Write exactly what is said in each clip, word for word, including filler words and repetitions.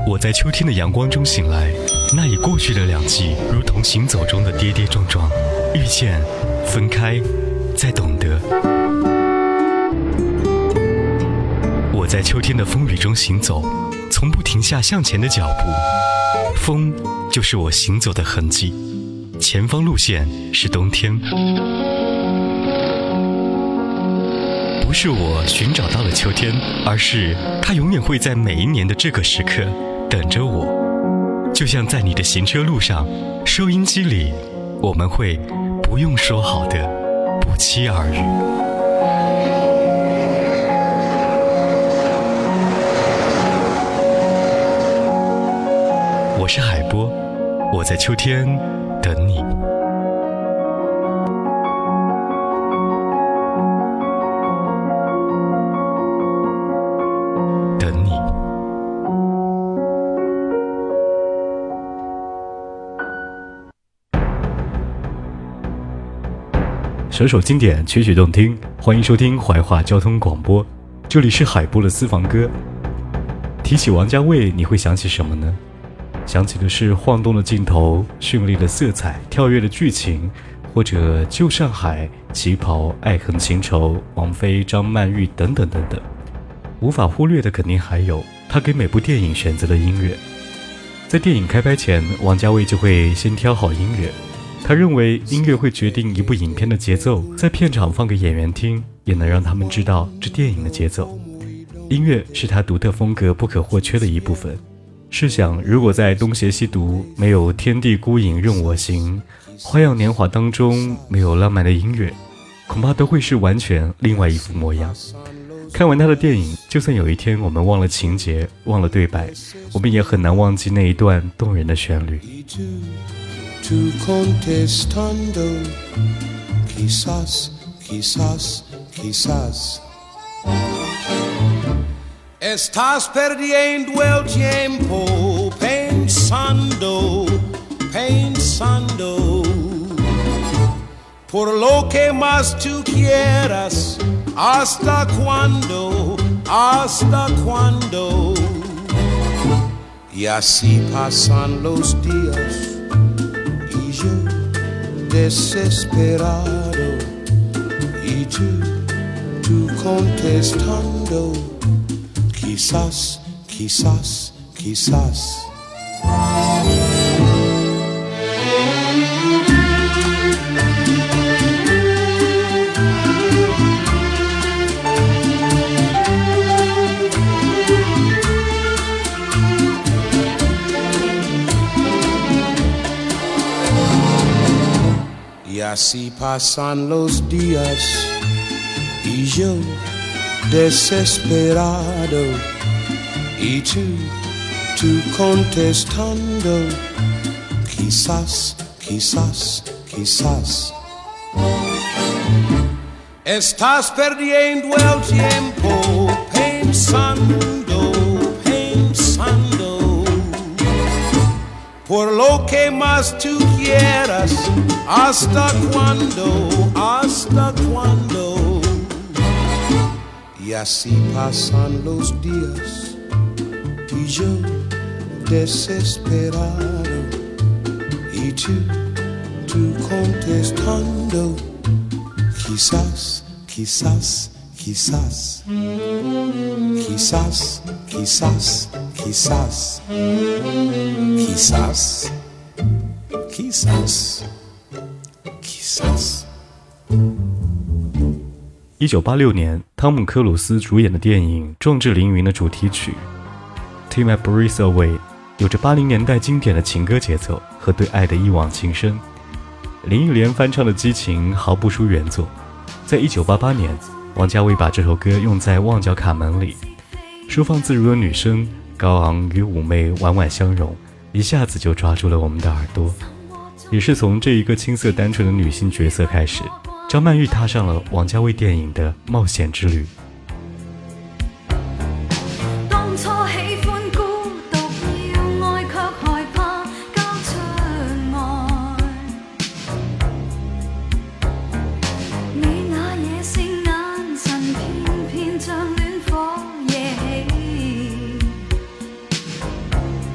我在秋天的阳光中醒来，那已过去的两季，如同行走中的跌跌撞撞，遇见，分开，再懂得。我在秋天的风雨中行走，从不停下向前的脚步。风就是我行走的痕迹，前方路线是冬天。不是我寻找到了秋天，而是它永远会在每一年的这个时刻等着我。就像在你的行车路上，收音机里，我们会不用说好的不期而遇。我是海波，我在秋天等你。等你。首首经典，曲曲动听，欢迎收听怀化交通广播，这里是海波的私房歌。提起王家卫，你会想起什么呢？想起的是晃动的镜头、绚丽的色彩、跳跃的剧情，或者旧上海、旗袍、爱恨情仇、王菲、张曼玉等等等等。无法忽略的肯定还有他给每部电影选择的音乐。在电影开拍前，王家卫就会先挑好音乐，他认为音乐会决定一部影片的节奏，在片场放给演员听，也能让他们知道这电影的节奏。音乐是他独特风格不可或缺的一部分。试想，如果在东邪西毒没有天地孤影任我行，花样年华当中没有浪漫的音乐，恐怕都会是完全另外一副模样。看完他的电影，就算有一天我们忘了情节，忘了对白，我们也很难忘记那一段动人的旋律。 Estás perdiendo el tiempo pensando, pensando por lo que más tú quieras. ¿Hasta cuándo? ¿Hasta cuándo? Y así pasan los días y yo desesperado y tú, tú contestando. Quizás, quizás, quizás. Y así pasan los días y yo desesperado y tú, tú contestando quizás, quizás, quizás. Estás perdiendo el tiempo pensando, pensando por lo que más tú quieras. ¿Hasta cuándo? ¿Hasta cuándo? Y así pasan los días y yo desesperado y tú, tú contestando quizás, quizás, quizás, quizás, quizás, quizás, quizás, quizás, quizás。 一九八六年，汤姆·克鲁斯主演的电影《壮志凌云》的主题曲《Take My Breath Away》有着八零年代经典的情歌节奏和对爱的一往情深。林忆莲翻唱的激情毫不输原作。在一九八八年，王家卫把这首歌用在《旺角卡门》里，收放自如的女声，高昂与妩媚婉婉相融，一下子就抓住了我们的耳朵。也是从这一个青涩单纯的女性角色开始，张曼玉踏上了王家卫电影的冒险之旅。 当初喜欢孤独，要爱却害怕交出爱。你那野性眼神，偏偏像暖火惹起。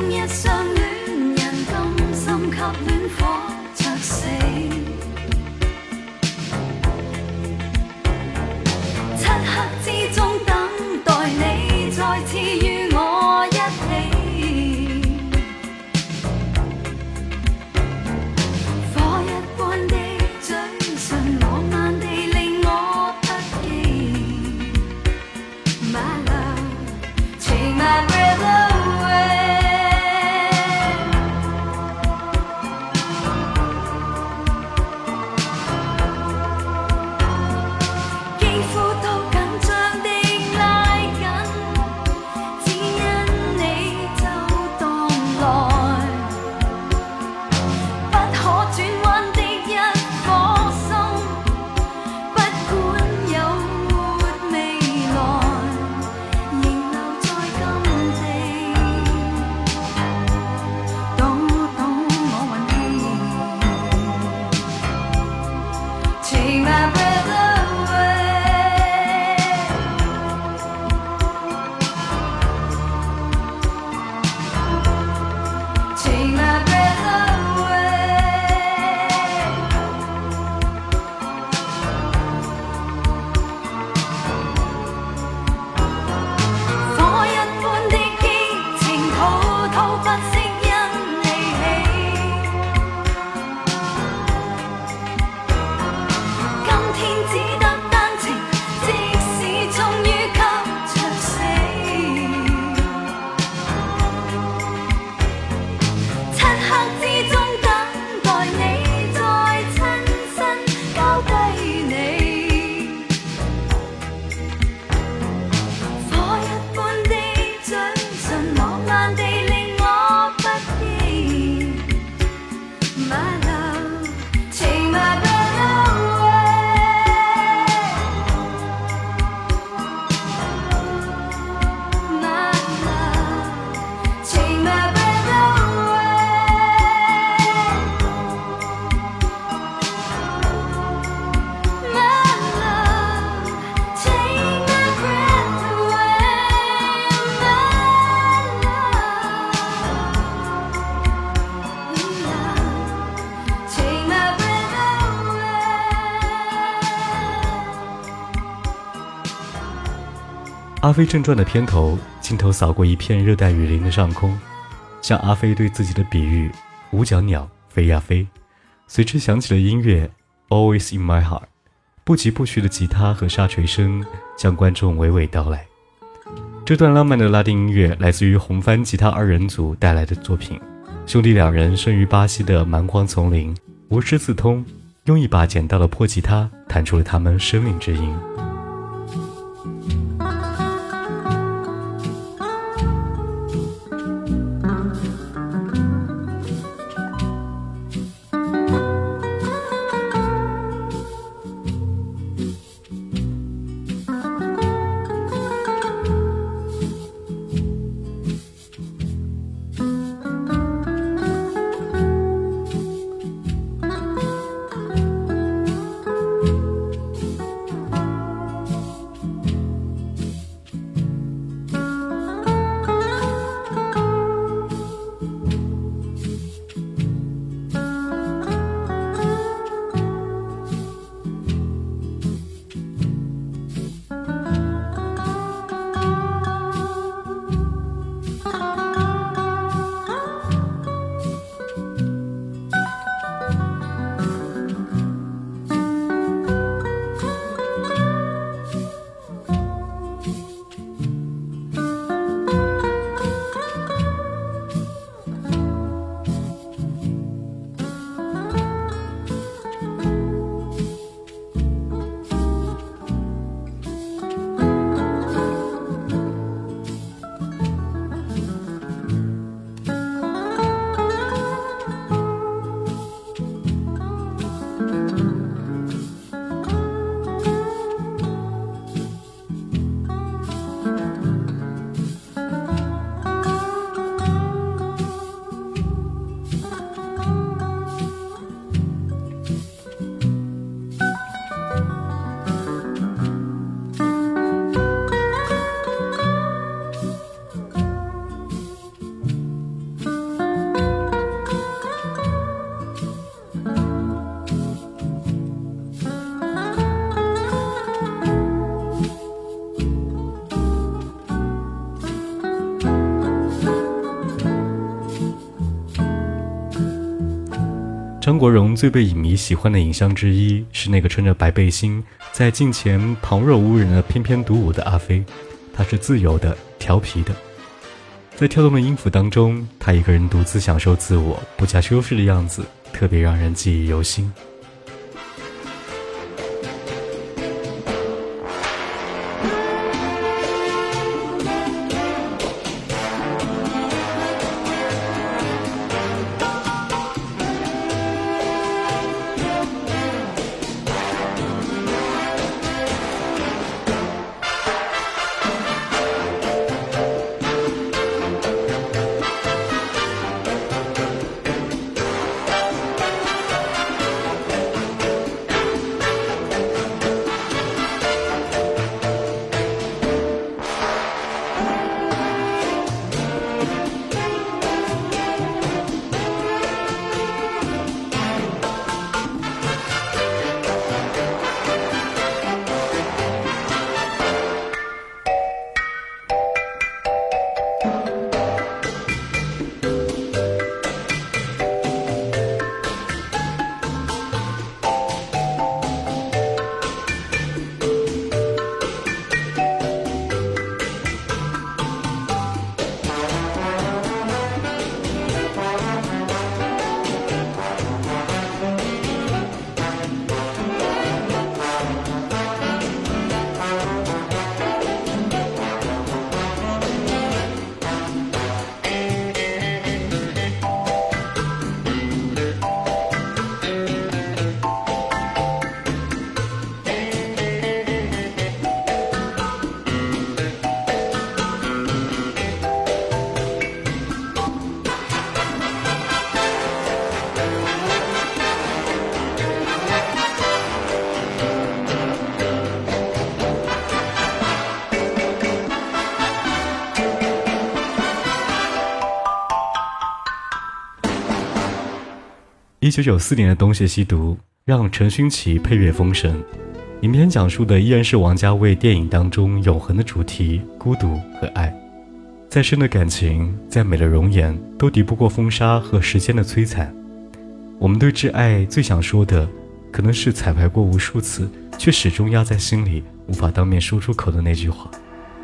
日相戀人甘心給戀火灼死。漆黑之中等待你再次與我一起，火一般的嘴唇浪漫地令我不羈。My love, take my breath away。肌膚都緊張地拉緊，只因你就蕩來，不可轉彎的一顆心，不管有沒未來，仍留在今地，懂懂我運氣。Take my breath away。Take my breath away。火一般的激情，滔滔不息因你起。今天只得單程，即使終於給灼死。漆黑之中等待你再親身交低你，火一般的嘴唇浪漫地令我不羈。My love, take my breath away。My love, take my breath away。My love, take my breath away。My love, take my breath away。 阿飞正传的片头，镜头扫过一片热带雨林的上空，像阿飞对自己的比喻，五角鸟飞呀飞。随之响起了音乐 Always in my heart， 不疾不徐的吉他和沙锤声将观众娓娓道来。这段浪漫的拉丁音乐来自于红帆吉他二人组带来的作品。兄弟两人生于巴西的蛮荒丛林，无师自通，用一把捡到的破吉他弹出了他们生命之音。 张国荣最被影迷喜欢的影像之一是那个穿着白背心在镜前旁若无人的翩翩独舞的阿飞，他是自由的、调皮的，在跳动的音符当中，他一个人独自享受自我不加修饰的样子，特别让人记忆犹新。一九九四年的《东邪西毒》让陈勋奇配乐封神，影片讲述的依然是王家卫电影当中永恒的主题——孤独和爱。再深的感情，再美的容颜，都敌不过风沙和时间的摧残。我们对挚爱最想说的，可能是彩排过无数次，却始终压在心里，无法当面说出口的那句话。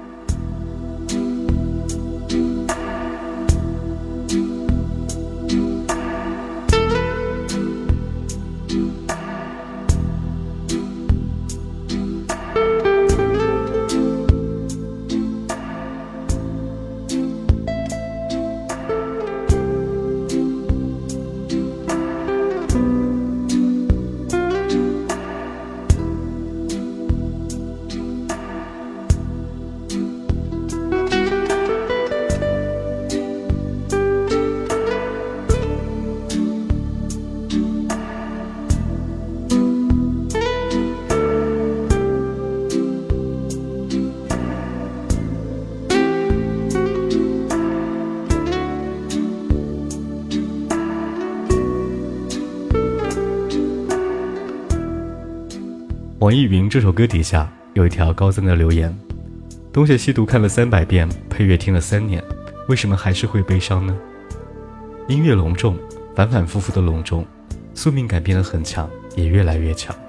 网易云这首歌底下有一条高赞的留言：东邪西毒看了三百遍，配乐听了三年，为什么还是会悲伤呢？音乐隆重，反反复复的隆重，宿命感变得很强，也越来越强。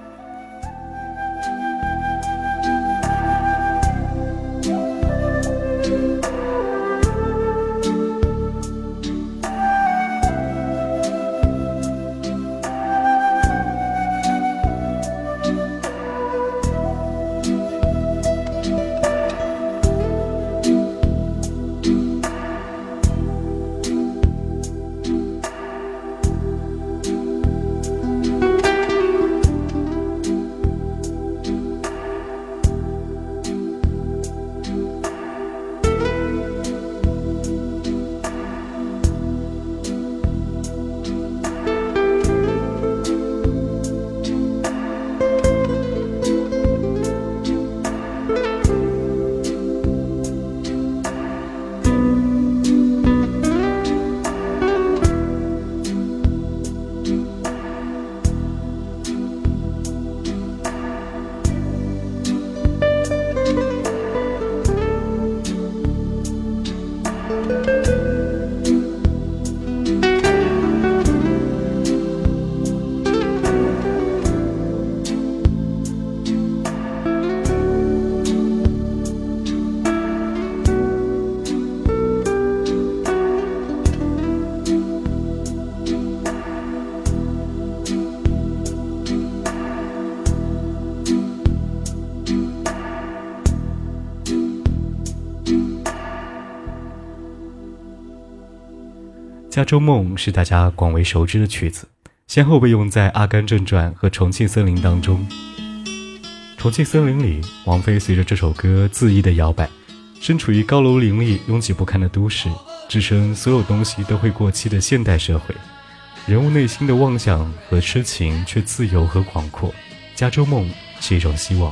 加州梦是大家广为熟知的曲子，先后被用在《阿甘正传》和《重庆森林》当中。重庆森林里，王菲随着这首歌恣意的摇摆，身处于高楼林立、拥挤不堪的都市，置身所有东西都会过期的现代社会，人物内心的妄想和痴情却自由和广阔。加州梦是一种希望。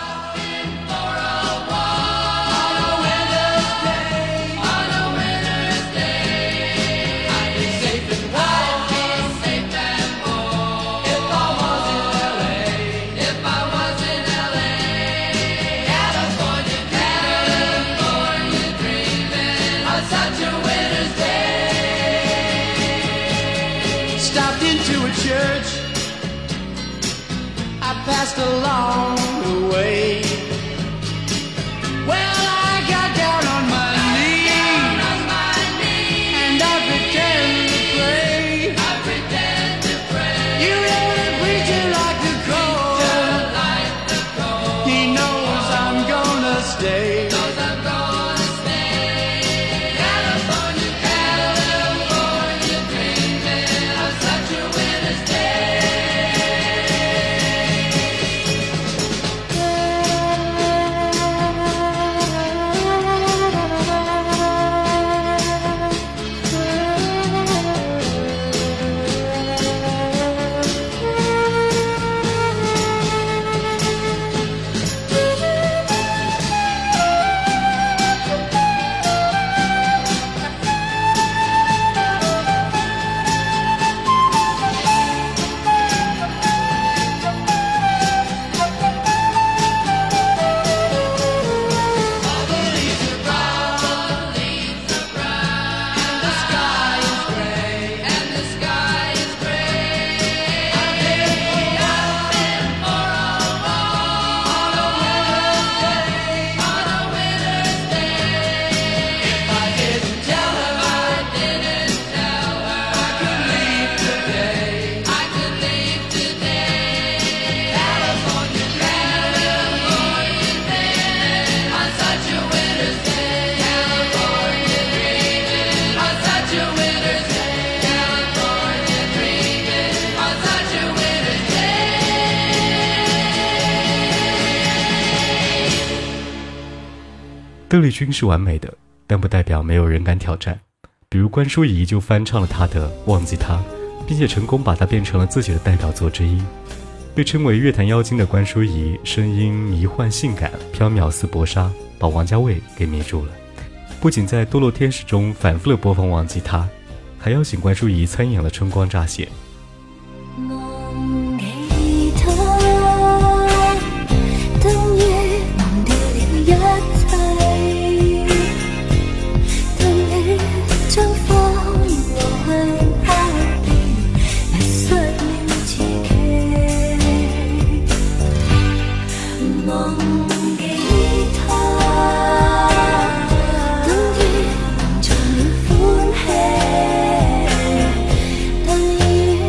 Passed along the way. Well, I got down on my knees, and I pretend to pray. I pretend to pray. You know the preacher like the cold. He knows I'm gonna stay. Knows I'm gonna stay. California, California, dreaming of such a winter's day. 邓丽君是完美的，但不代表没有人敢挑战。比如关淑怡就翻唱了她的《忘记他》，并且成功把它变成了自己的代表作之一。被称为乐坛妖精的关淑怡，声音迷幻性感，飘渺似薄纱，把王家卫给迷住了。不仅在《堕落天使》中反复的播放《忘記他》，还邀請關淑怡參演了《春光乍泄》。 等於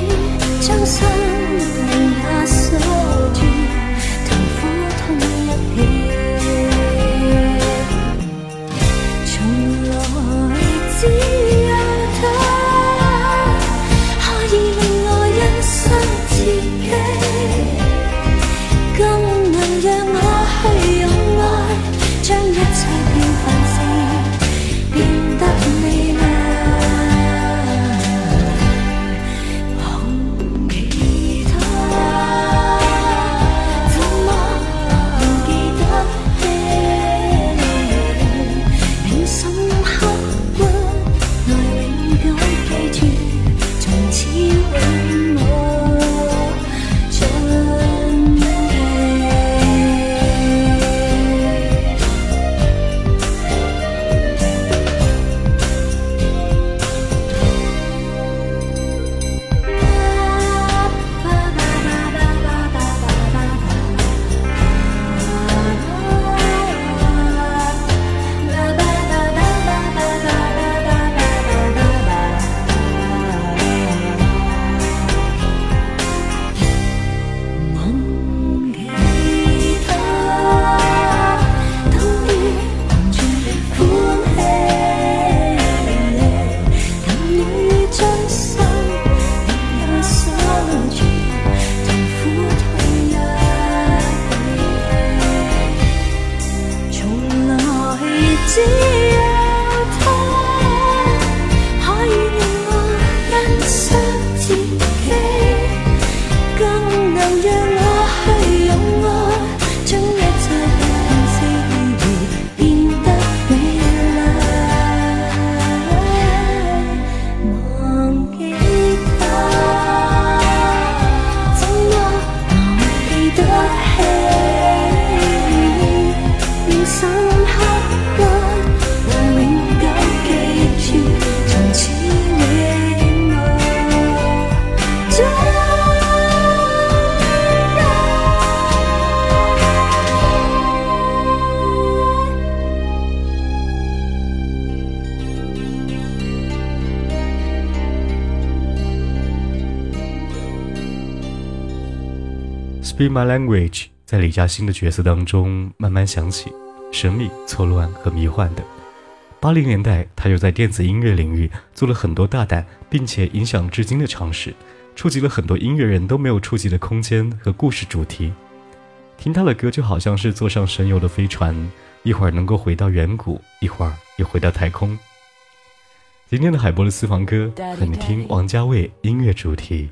Speak My Language 在李嘉欣的角色当中慢慢响起，神秘、错乱和迷幻的。八零年代，他又在电子音乐领域做了很多大胆并且影响至今的尝试，触及了很多音乐人都没有触及的空间和故事主题。听他的歌就好像是坐上神游的飞船，一会儿能够回到远古，一会儿又回到太空。今天的海波的私房歌和你听王家卫音乐主题。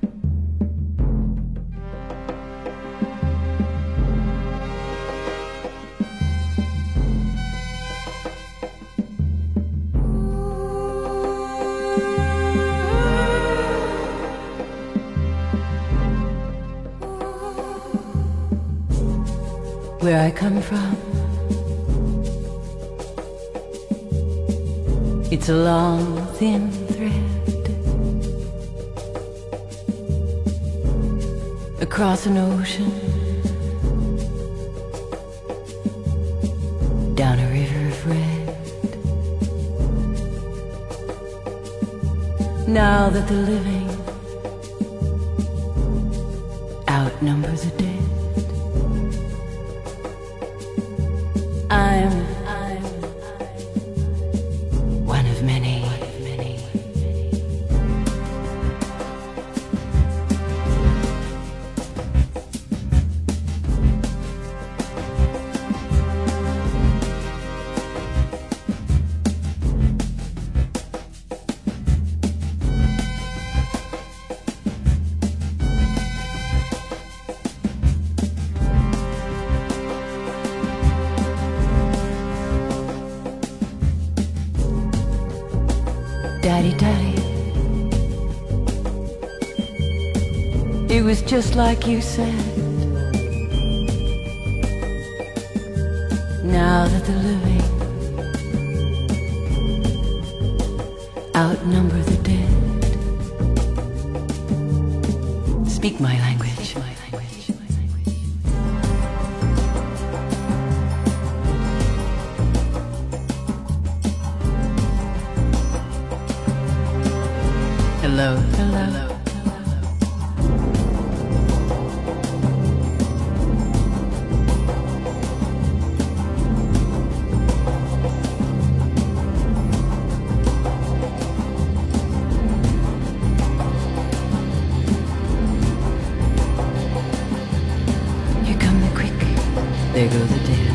Where I come from, it's a long, thin thread across an ocean, down a river of red. Now that the living outnumber the dead, I'm, I'm, one of many. One of many. Daddy, Daddy, it was just like you said. Now that the living outnumber the dead, speak my language. Hello, hello, hello. Here come the quick, there go the dead.